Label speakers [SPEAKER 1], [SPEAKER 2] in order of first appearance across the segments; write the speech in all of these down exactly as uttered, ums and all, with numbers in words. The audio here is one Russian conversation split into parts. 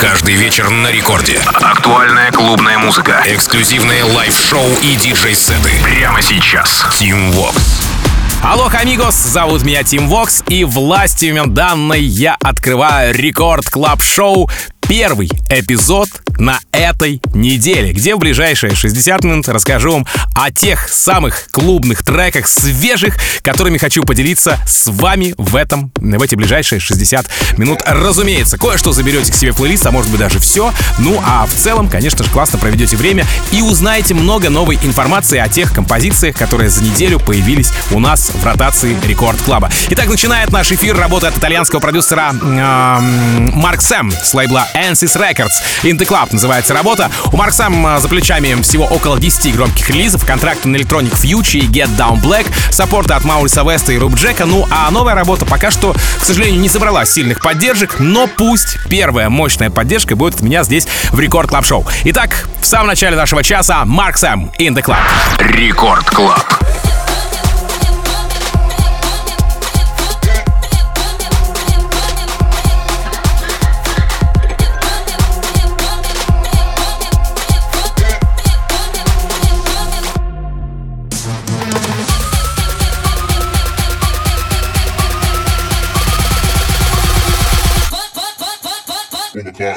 [SPEAKER 1] Каждый вечер на рекорде. Актуальная клубная музыка. Эксклюзивные лайв-шоу и диджей-сеты. Прямо сейчас. Team Vox.
[SPEAKER 2] Алло, амигос, зовут меня Team Vox, и властью данной я открываю Рекорд Клаб Шоу. Первый эпизод на этой неделе, где в ближайшие шестьдесят минут расскажу вам о тех самых клубных треках, свежих, которыми хочу поделиться с вами в, этом, в эти ближайшие шестьдесят минут. Разумеется, кое-что заберете к себе в плейлист, а может быть даже все. Ну а в целом, конечно же, классно проведете время и узнаете много новой информации о тех композициях, которые за неделю появились у нас в ротации Рекорд Клаба. Итак, начинает наш эфир работа от итальянского продюсера э, Марк Сэм с лейбла Ansys Records. In the Club называется работа. У Марк Сэм за плечами всего около десяти громких релизов, контракты на Electronic Future и Get Down Black, саппорты от Мауриса Веста и Руб Джека. Ну а новая работа пока что, к сожалению, не собрала сильных поддержек, но пусть первая мощная поддержка будет от меня здесь в Рекорд Клаб Шоу. Итак, в самом начале нашего часа Марк Сэм, In the Club.
[SPEAKER 1] Рекорд Клаб.
[SPEAKER 3] Yeah.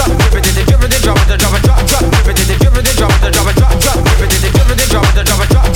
[SPEAKER 4] drop it, drop it, drop it, drop it, drop it, drop it, drop it, drop it, drop it, drop it, drop it, drop it, drop it, drop it, drop it, drop it,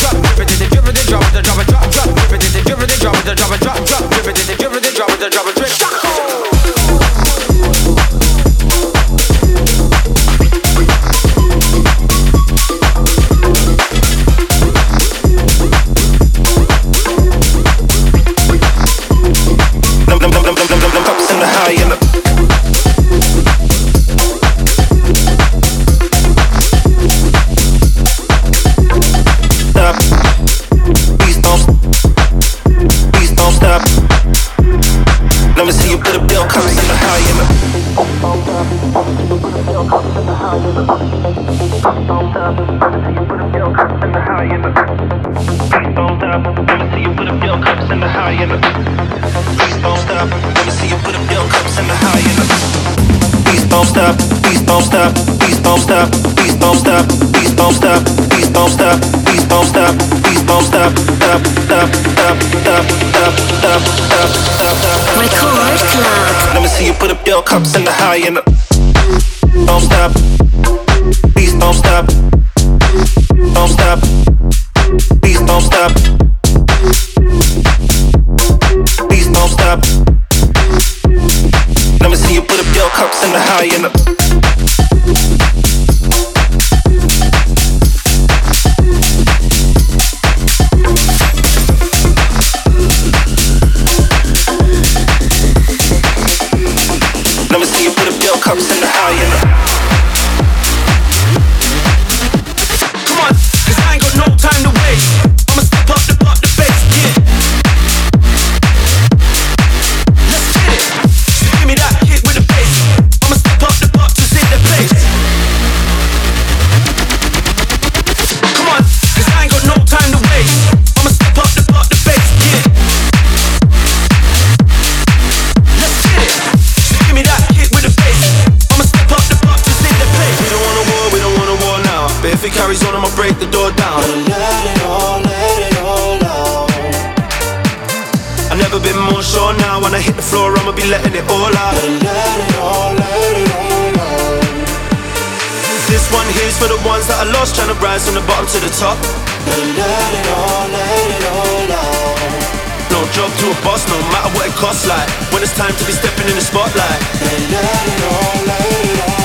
[SPEAKER 3] Cups in the high and the don't stop, please don't stop, don't stop, please don't stop, please don't stop. Let me see you put up your cups in the high and the cups in the high and the come on, cause I ain't got no time to waste. I'ma step up the up the bass, yeah. Let's get it. So give me that hit with the bass. I'ma step up the up to in the place. Come on, cause I ain't got no time to waste. I'ma step up the up the bass, yeah. Let's get it. So give me that hit with the bass. If it carries on, I'ma break the door down. Let it all, let it all out. I've never been more sure now. When I hit the floor, I'ma be letting it all out. Let it all, let it all out. This one here's for the ones that I lost, trying to rise from the bottom to the top. Let it all, let it all out. No job to a boss, no matter what it costs. Like when it's time to be stepping in the spotlight. Let it all, let it all out.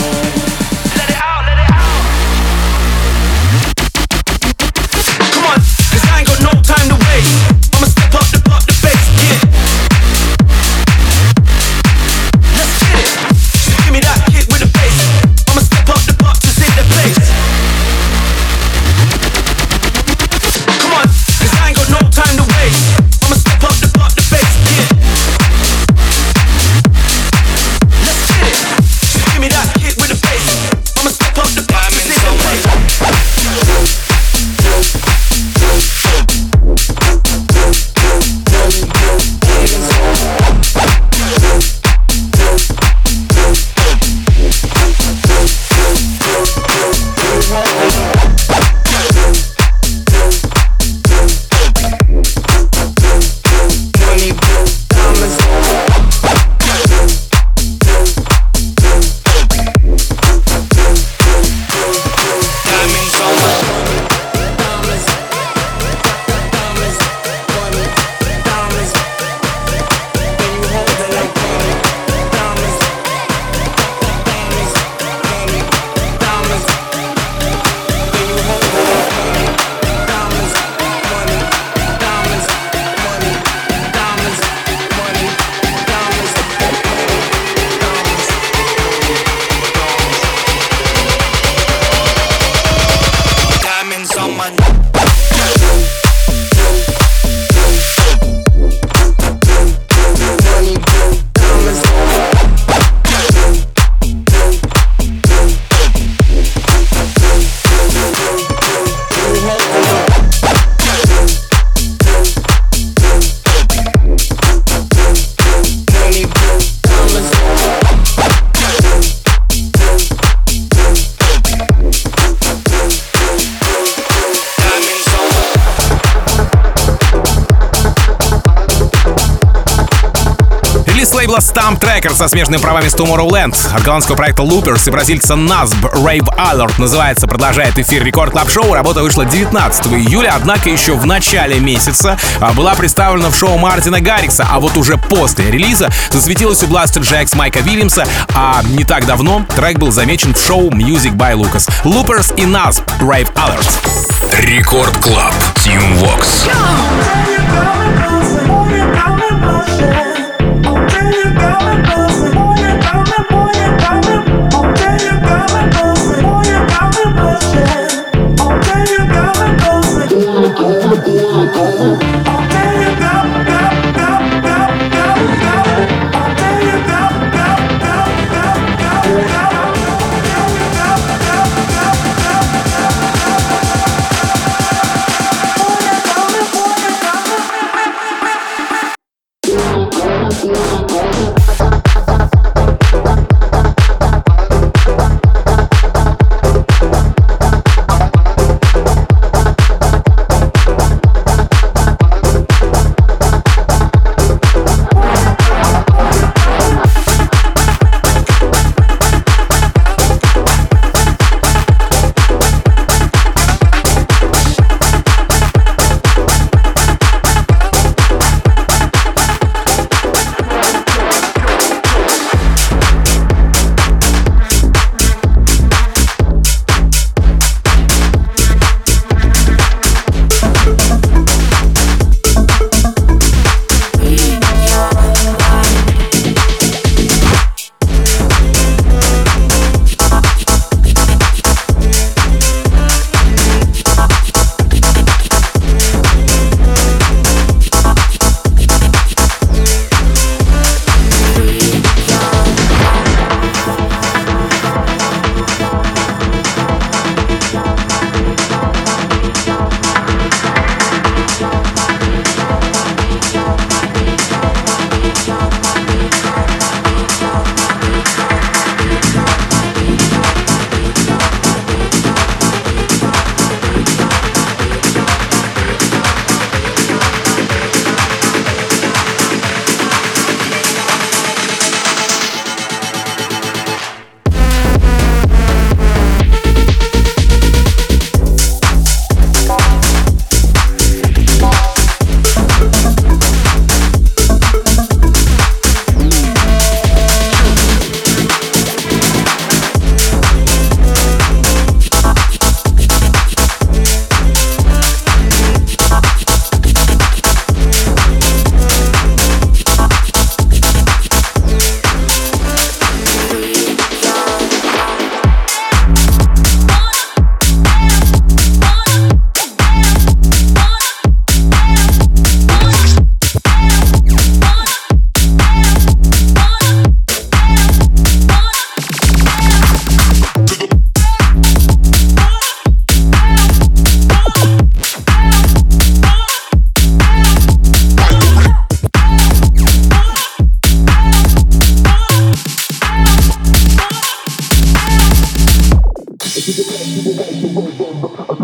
[SPEAKER 3] No time to waste. I'ma step up the up the bass, yeah. Let's get it. So give me that hit with the bass. I'ma step up the up to in the place. Come on, cause I ain't got no time to waste. I'ma step up the up the bass, yeah. Let's get it. So give me that hit with the bass. I'ma step up the up to in the place.
[SPEAKER 2] лейбла Stamp Tracker со смежными правами с Tomorrowland, от голландского проекта Loopers и бразильца Насб Rave Alert называется, продолжает эфир Рекорд Клаб Шоу. Работа вышла девятнадцатого июля, однако еще в начале месяца была представлена в шоу Мартина Гаррикса, а вот уже после релиза засветилась у Blaster Jacks Майка Вильямса, а не так давно трек был замечен в шоу Music by Lucas. Loopers и Насб Rave Alert.
[SPEAKER 1] Рекорд Клаб, Team Vox.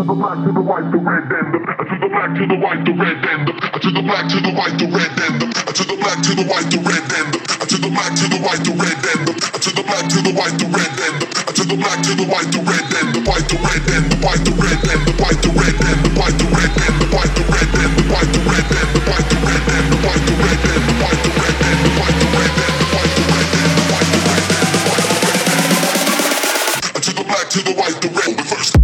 [SPEAKER 4] the black to the white, the red, and the to the black to the white, the red, and the to the black to the white, the red, and the to the black to the white, the red, and the to the black to the white, the red, and the to the black to the white, the red, and the to the black to the white, the red, and the white, the red, and the white, the red, and the white, the red, and the white, the red, and the white, the red, and the white, the red, and the white, the red, and the white, the red, and the white, the red, and the white, the red, and the white, the red, and the white, the red, and the white, the red, and the white, the red, to the black to the white, the red, the first.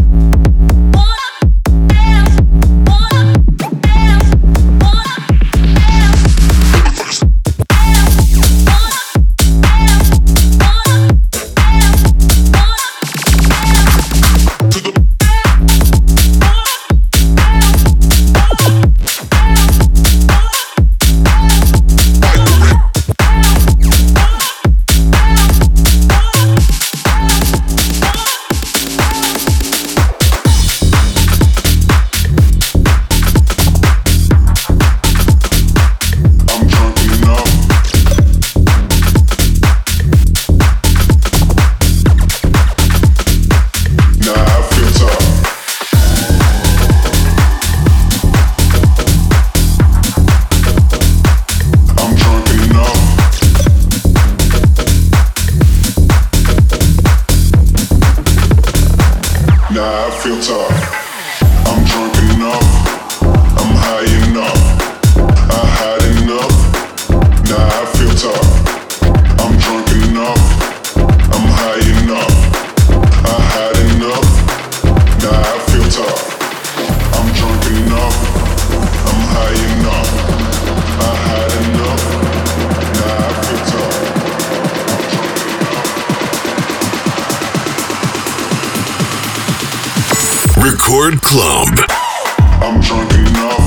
[SPEAKER 1] Record Club.
[SPEAKER 4] I'm drunk enough.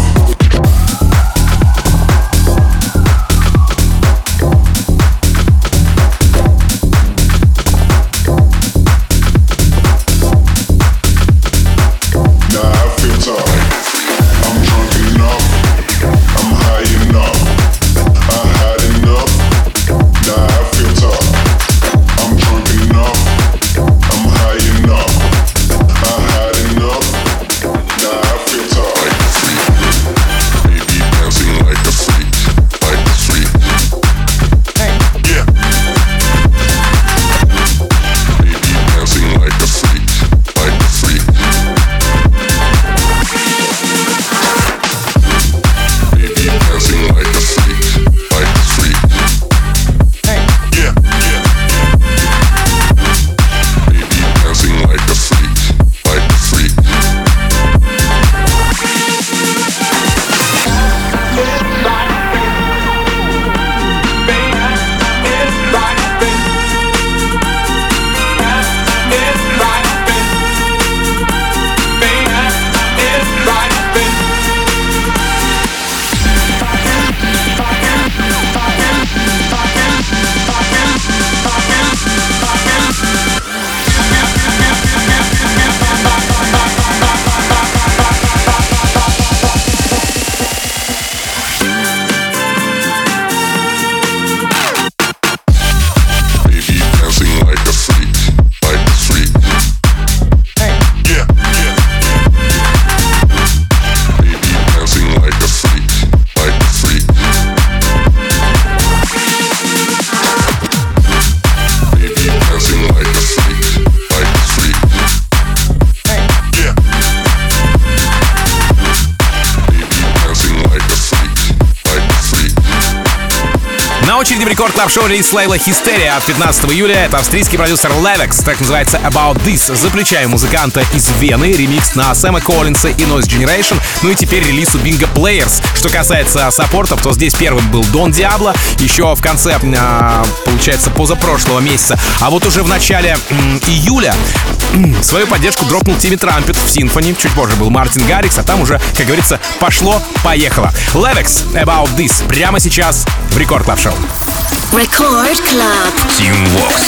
[SPEAKER 2] На очереди в Рекорд Клаб Шоу релиз лейбла Hysteria от пятнадцатого июля. Это австрийский продюсер Levex, так называется About This. За плечами музыканта из Вены, ремикс на Сэма Коллинса и Noise Generation. Ну и теперь релиз у Bingo Players. Что касается саппортов, то здесь первым был Don Diablo, еще в конце, получается, позапрошлого месяца. А вот уже в начале м, июля м, свою поддержку дропнул Тимми Трампет в Symphony. Чуть позже был Мартин Гаррикс, а там уже, как говорится, пошло-поехало. Levex, About This. Прямо сейчас в Рекорд Клаб Шоу.
[SPEAKER 5] Record Club.
[SPEAKER 1] Team Vox.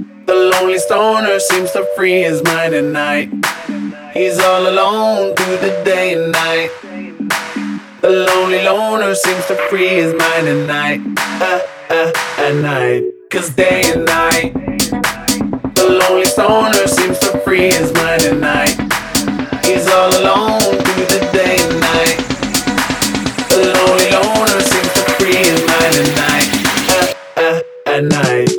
[SPEAKER 6] The lonely stoner seems to free his mind at night. He's all alone through the day and night. The lonely loner seems to free his mind at night. Uh, uh, at night. Cause day and night. The lonely stoner seems to free his mind at night. He's all alone through the day and night. The lonely loner seems to free his mind at night. Uh, uh, at night.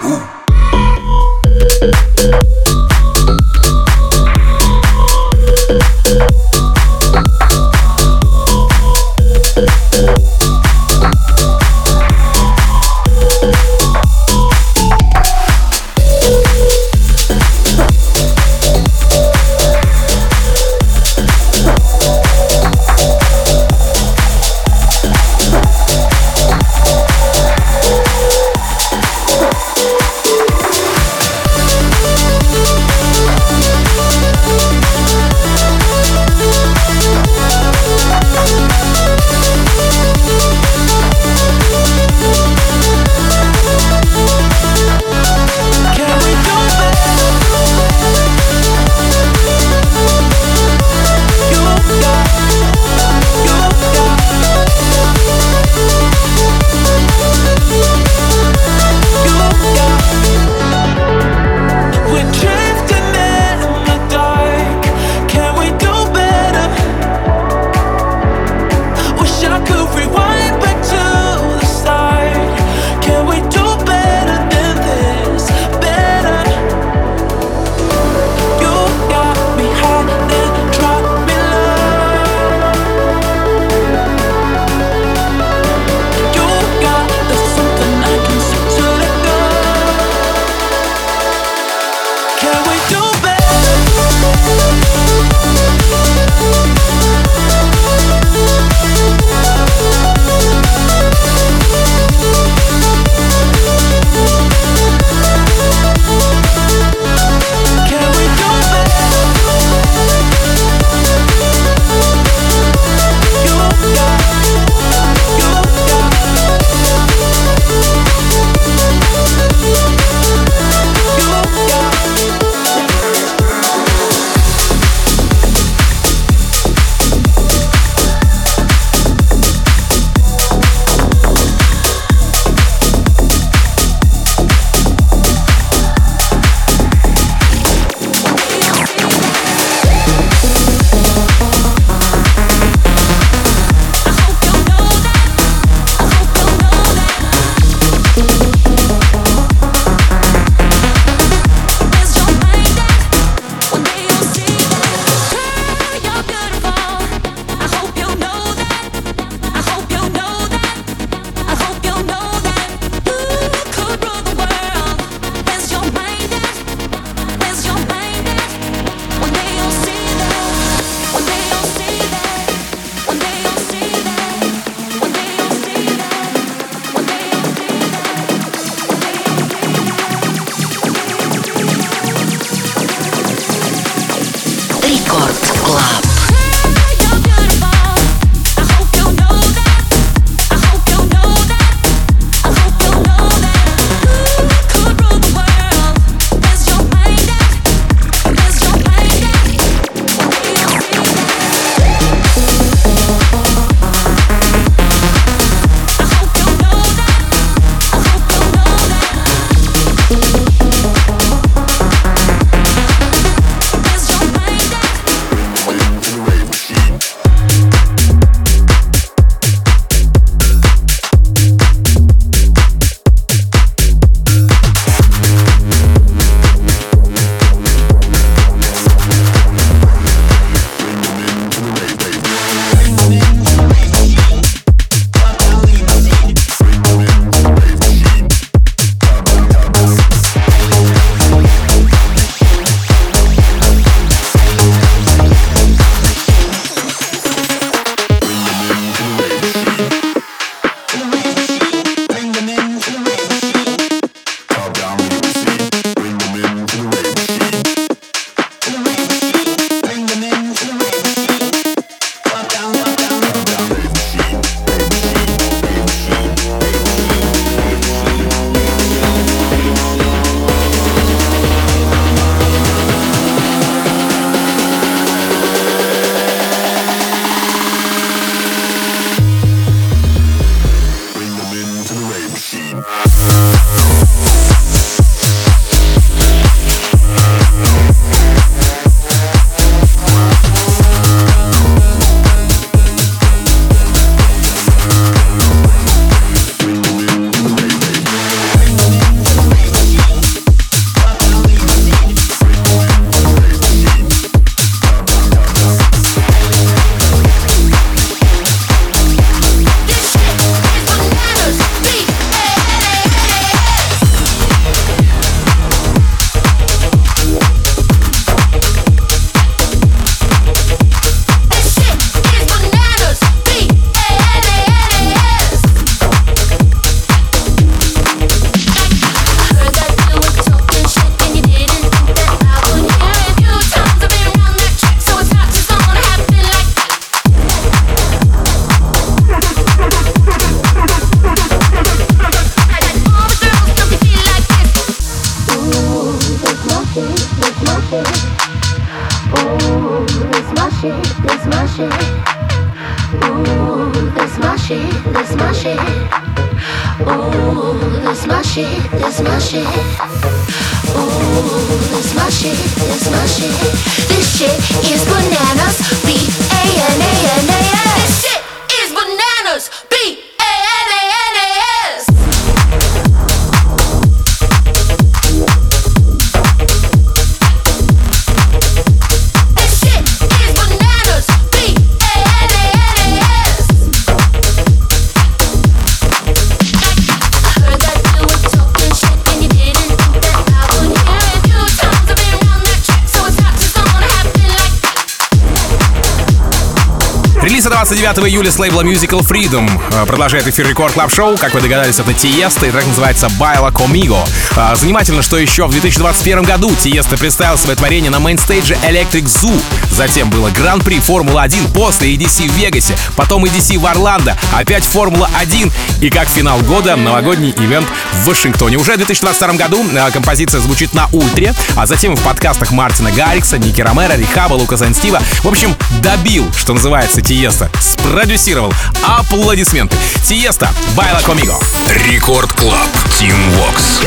[SPEAKER 2] двадцать девятого июля с лейбла Musical Freedom продолжает эфир Рекорд Клаб Шоу. Как вы догадались, это Тиеста, и трек называется «Baila Conmigo». Занимательно, что еще в две тысячи двадцать первом году Тиеста представил свое творение на мейнстейдже Electric Zoo. Затем было Гран-при Формула один, после и ди си в Вегасе, потом и ди си в Орландо, опять Формула один и как финал года новогодний ивент в Вашингтоне. Уже в две тысячи двадцать втором году композиция звучит на Ультре, а затем в подкастах Мартина Гаррикса, Ники Ромеро, Рихаба, Лукаса энд Стива. В общем, добил, что называется, Тиеста. Спродюсировал. Аплодисменты. Тиеста, Baila Conmigo.
[SPEAKER 1] Рекорд Клаб, Team Vox.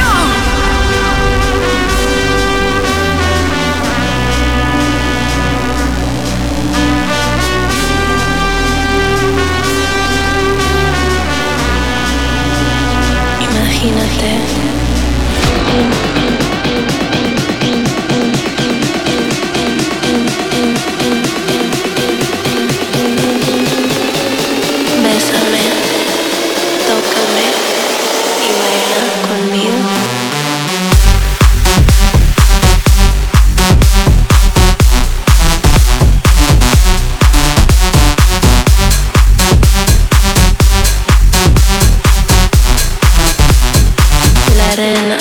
[SPEAKER 7] Imagínate. Bésame, tócame y baila conmigo. La arena.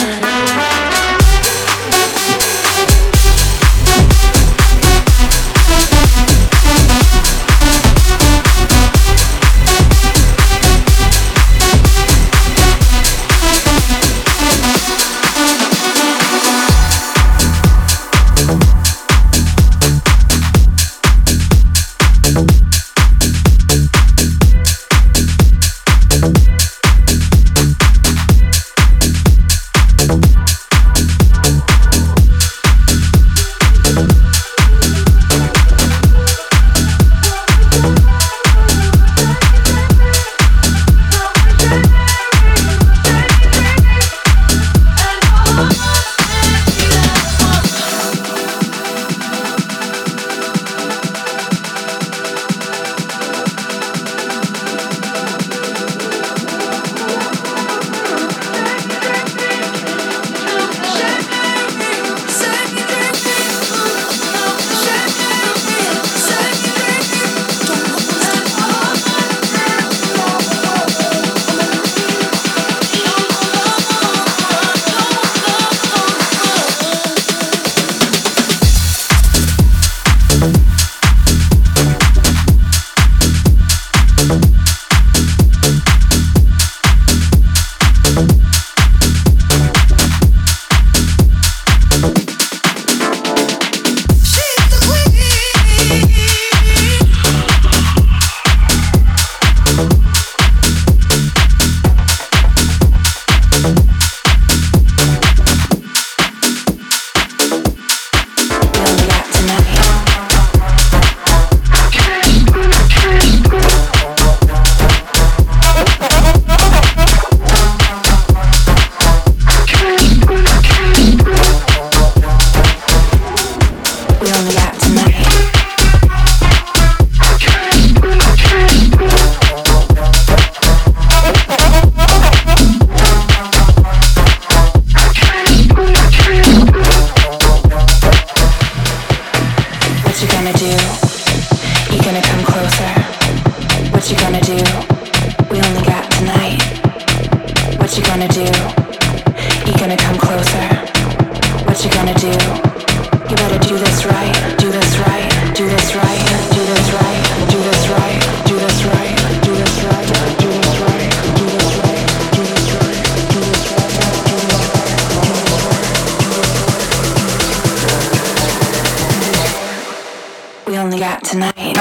[SPEAKER 8] got tonight.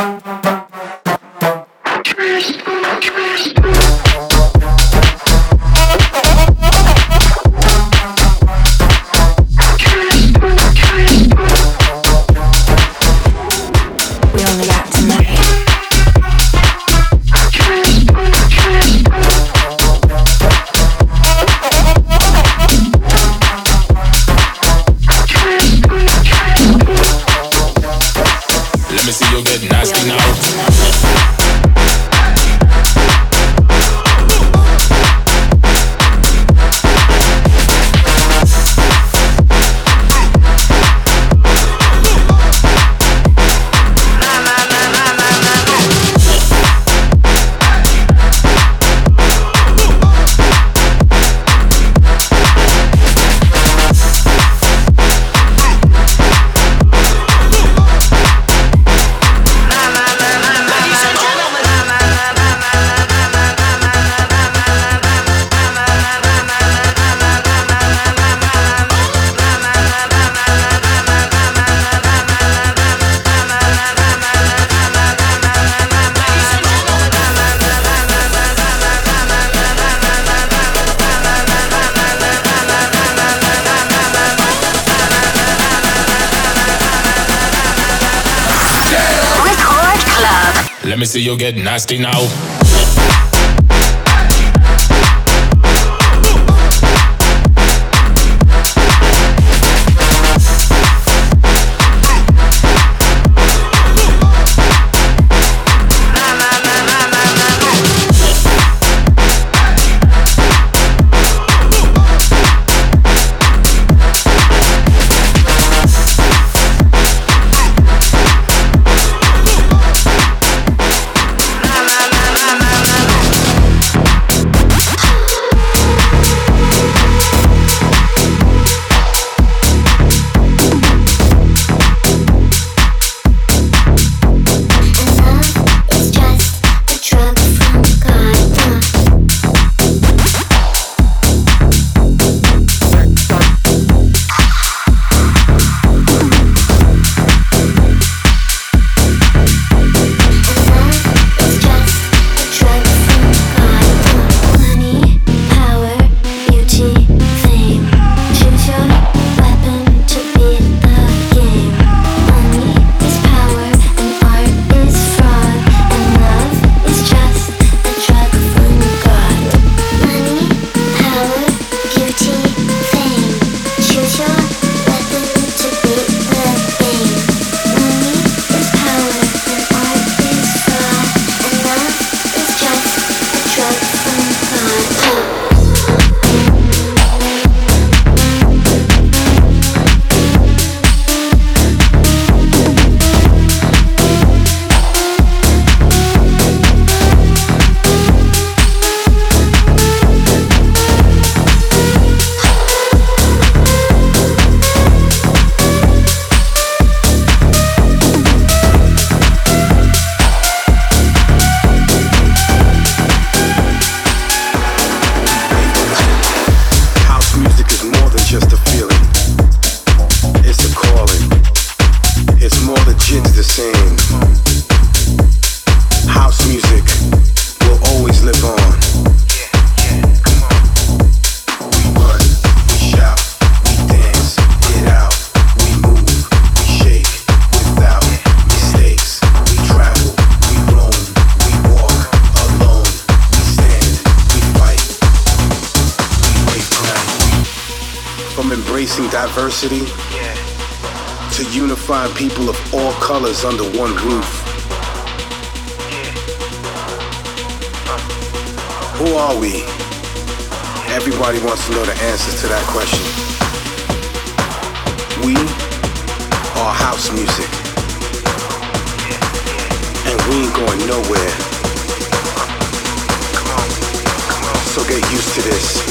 [SPEAKER 9] Let me see you get nasty now.
[SPEAKER 10] Diversity to unifying people of all colors under one roof. Who are we? Everybody wants to know the answers to that question. We are house music, and we ain't going nowhere. So get used to this.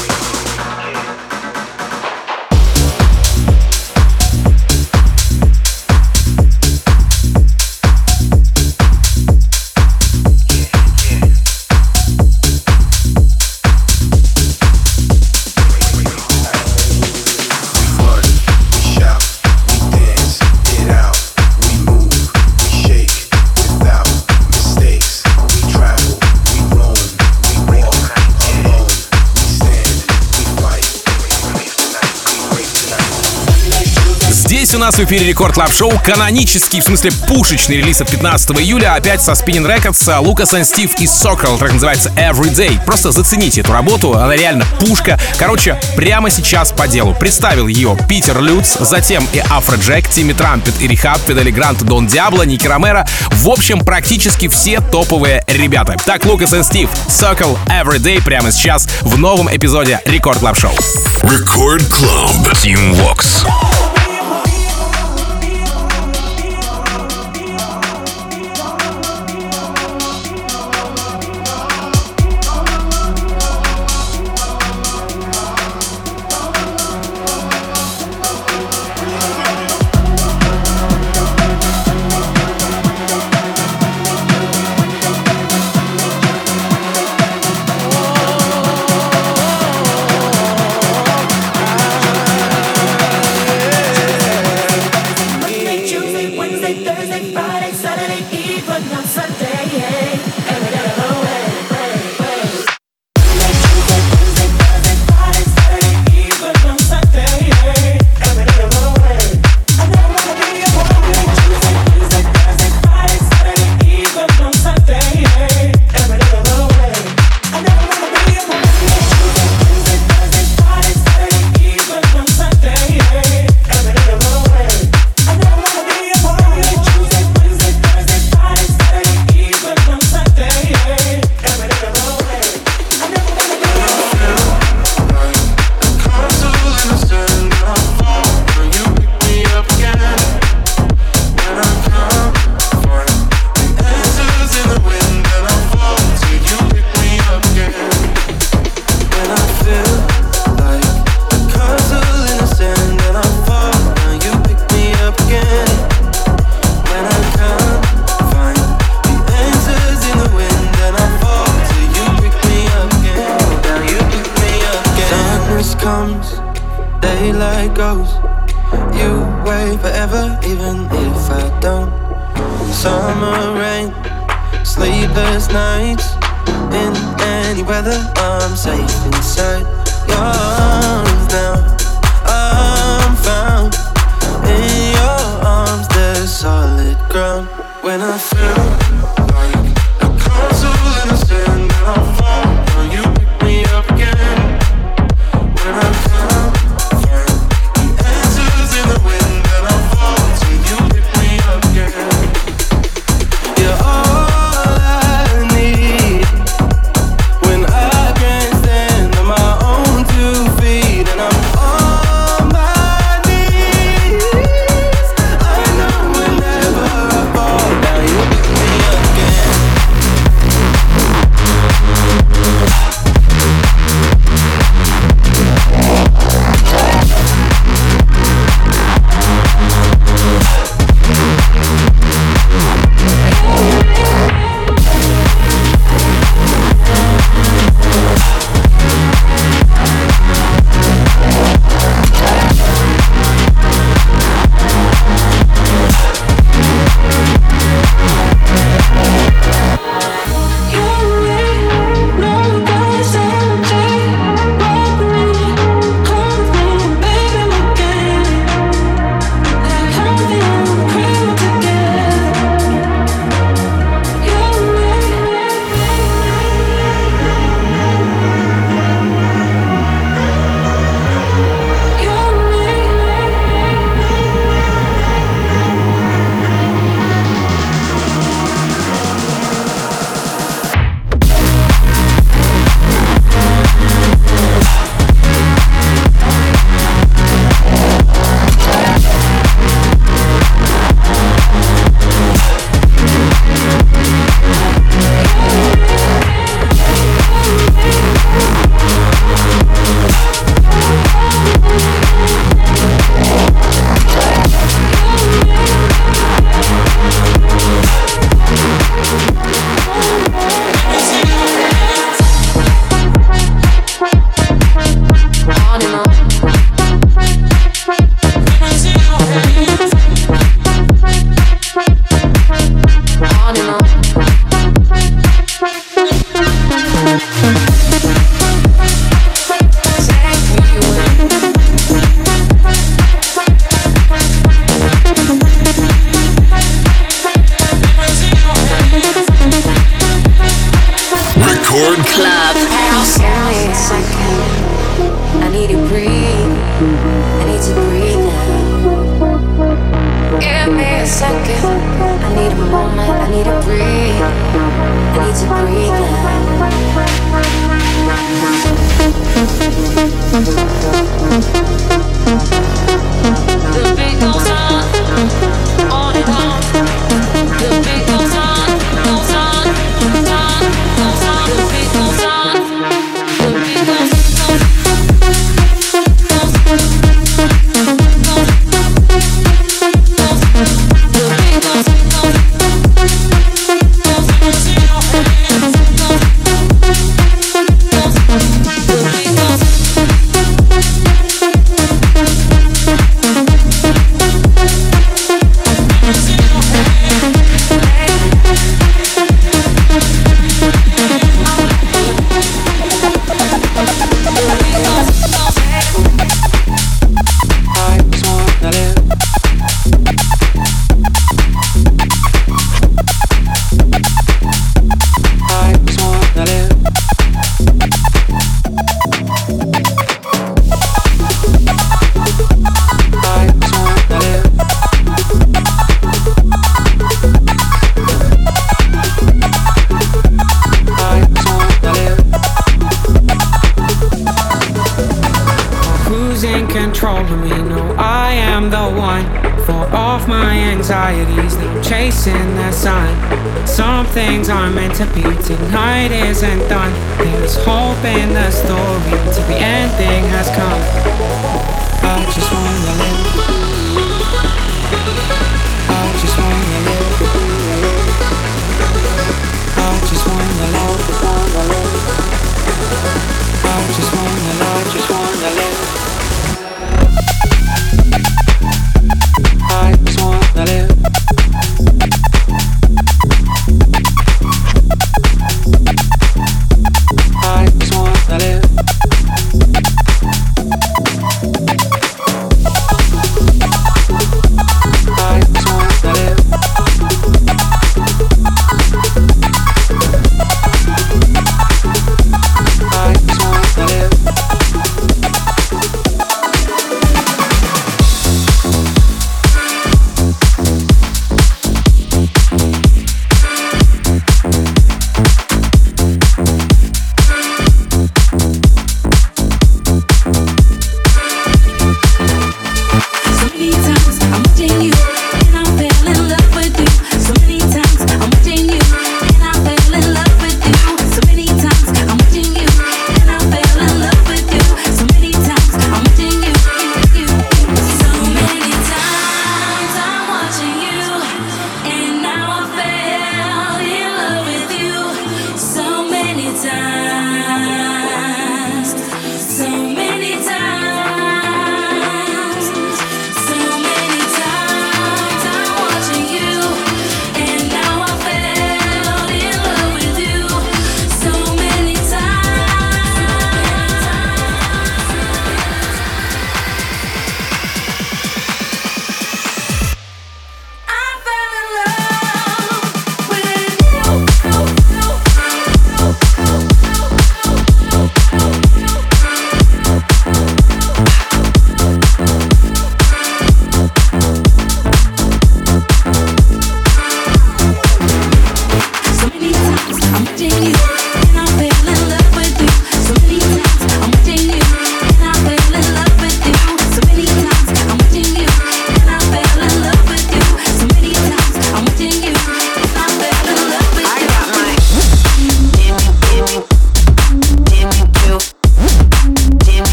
[SPEAKER 4] Shake
[SPEAKER 2] Здесь у нас в эфире Рекорд Клаб Шоу. Канонический, в смысле пушечный релиз от пятнадцатого июля. Опять со Spinning Records. Лукас энд Стив и Sokol. Трек называется Everyday. Просто зацените эту работу. Она реально пушка. Короче, прямо сейчас по делу. Представил ее Питер Люц, затем и Афроджек, Тимми Трампет и Рихаб, Фидели Грант, Дон Диабло, Ники Ромеро. В общем, практически все топовые ребята. Так, Лукас энд Стив, Sokol, Everyday прямо сейчас в новом эпизоде Рекорд Клаб Шоу.
[SPEAKER 1] Рекорд Клаб. Team Vox.
[SPEAKER 8] Tonight isn't done. There's hope in the story till the ending has come. I just wanna live. I just wanna live. I just wanna live. I just wanna live. Just wanna live. I just wanna live. I just wanna live.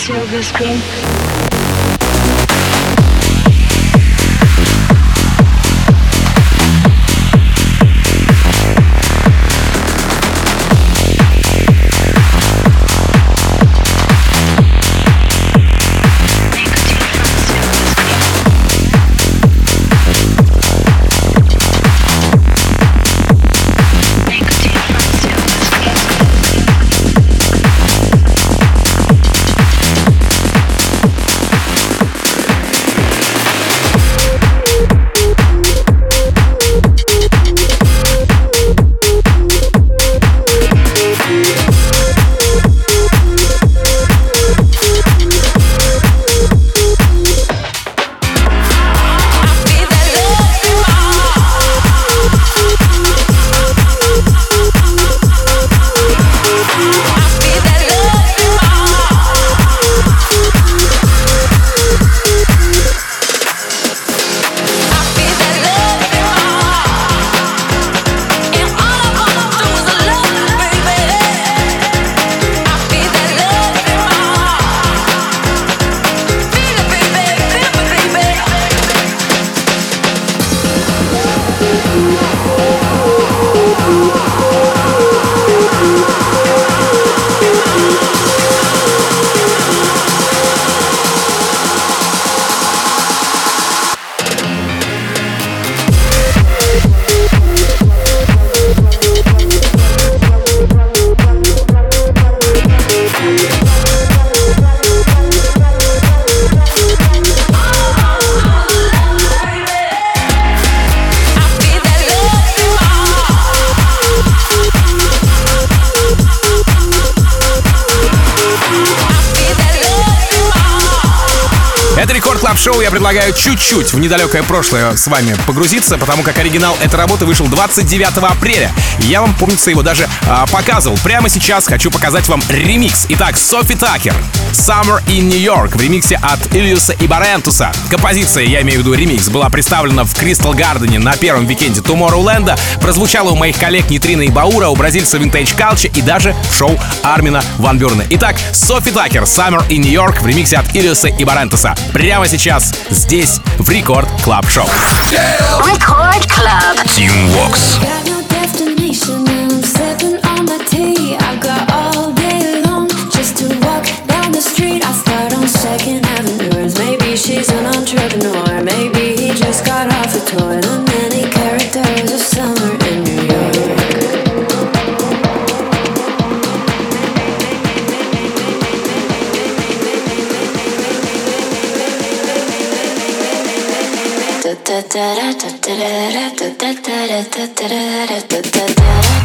[SPEAKER 7] silver screen.
[SPEAKER 2] Шоу я предлагаю чуть-чуть в недалекое прошлое с вами погрузиться, потому как оригинал этой работы вышел двадцать девятого апреля. Я вам, помнится, его даже а, показывал. Прямо сейчас хочу показать вам ремикс. Итак, Софи Такер, Summer in New York в ремиксе от Ильюса и Барентуса. Композиция, я имею в виду ремикс, была представлена в Кристал Гардене на первом викенде Tomorrowland, прозвучала у моих коллег Нитрина и Баура, у бразильца Vintage Culture и даже в шоу Армина ван Бюрена. Итак, Софи Такер, Summer in New York в ремиксе от Ильюса и Барентуса. Прямо сейчас здесь, в Рекорд Клаб Шоу.
[SPEAKER 5] Рекорд Клаб.
[SPEAKER 1] Team Vox.
[SPEAKER 7] She's an entrepreneur. Maybe he just got off the tour. The many characters of summer in New York. Da da da da da da da da da da da da da.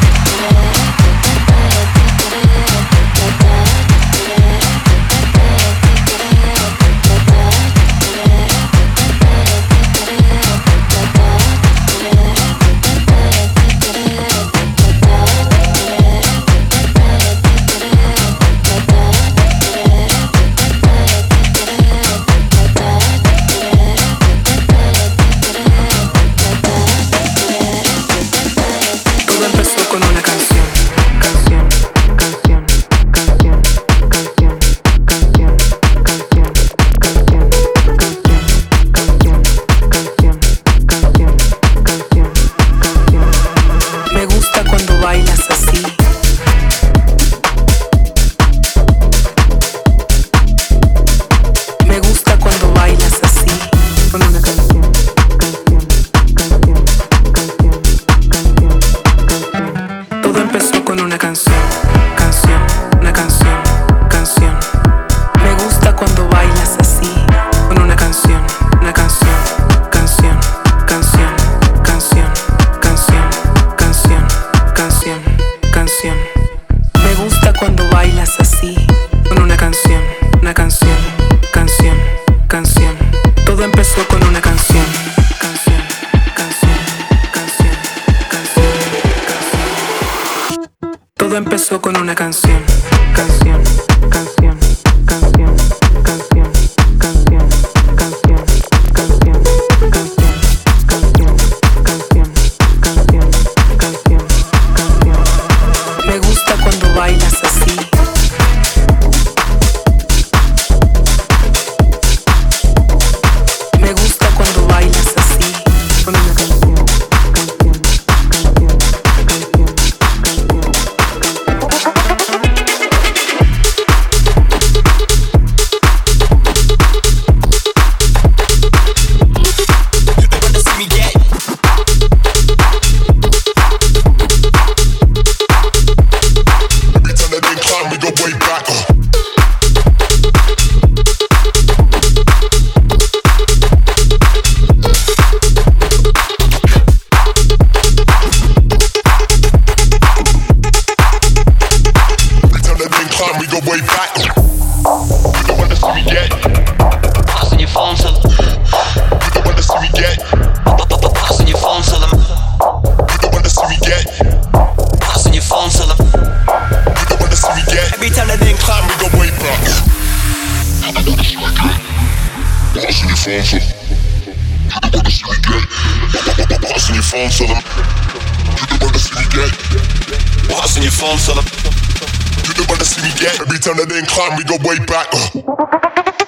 [SPEAKER 8] Todo empezó con una canción, canción, canción, canción, canción, canción, canción, canción, canción, canción, canción, canción, canción, canción. Me gusta cuando bailas así.
[SPEAKER 4] phone, tell them. You the one to see me get. What's on your phone, tell them. You the one to see me get. Every time that they incline, we go way back. Uh.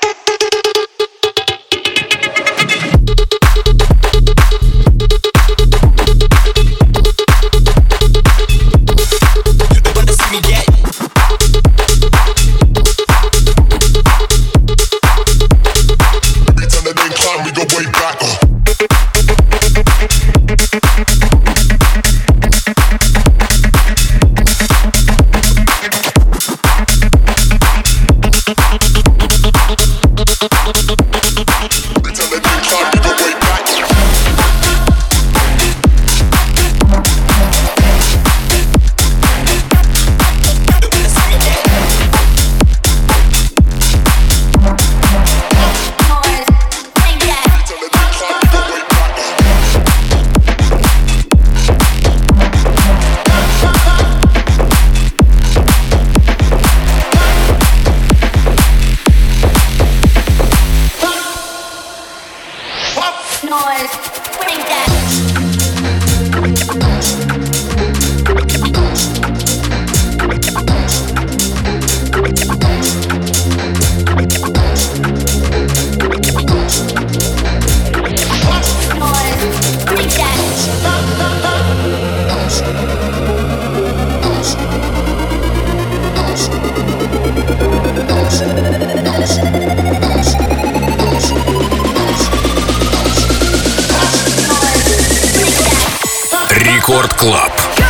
[SPEAKER 1] Рекорд Клаб.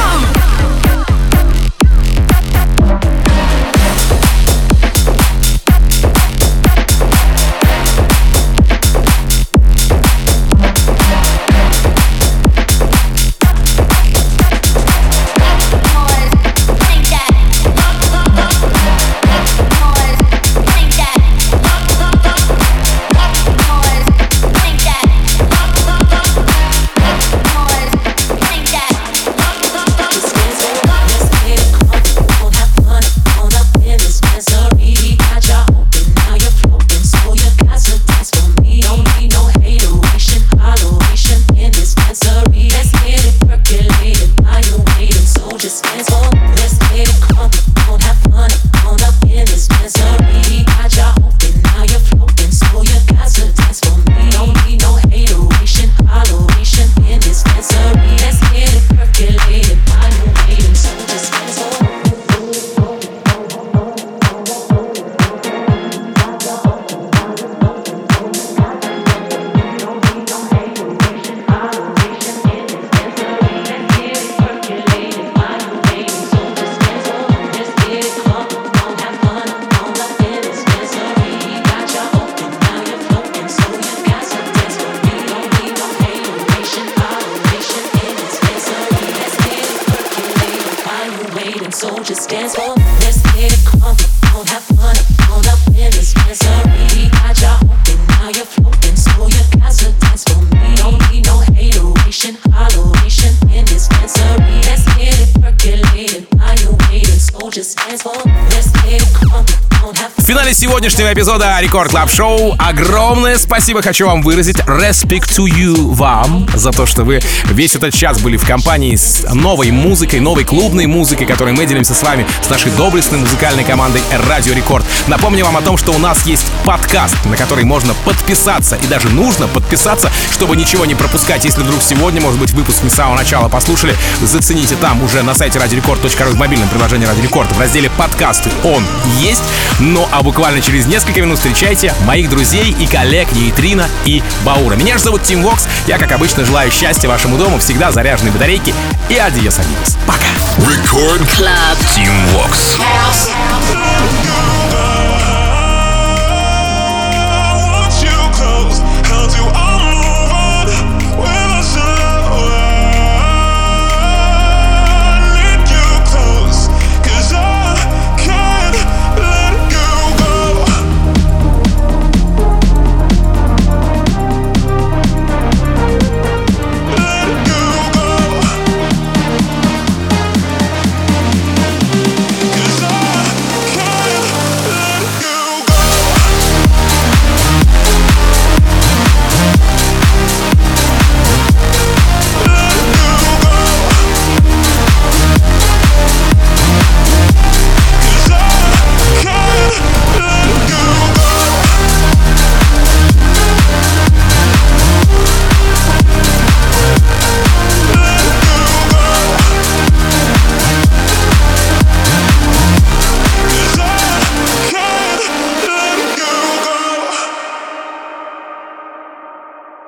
[SPEAKER 2] В финале сегодняшнего эпизода Рекорд Клаб Шоу огромное спасибо хочу вам выразить. Respect to you вам за то, что вы весь этот час были в компании с новой музыкой, новой клубной музыкой, которой мы делимся с вами, с нашей доблестной музыкальной командой Радио Рекорд. Напомню вам о том, что у нас есть подкаст, на который можно подписаться, и даже нужно подписаться, чтобы ничего не пропускать. Если вдруг сегодня, может быть, выпуск не с самого начала послушали, зацените там уже на сайте радиорекорд точка ру в мобильном приложении Радио Рекорд в разделе «Подкасты» он есть. Ну а буквально через несколько минут встречайте моих друзей и коллег Нейтрино и Баура. Меня же зовут Тим Вокс. Я, как обычно, желаю счастья вашему дому, всегда заряженной батарейки. И адьос, амигос. Пока.
[SPEAKER 1] Рекорд Клаб. Тим Вокс.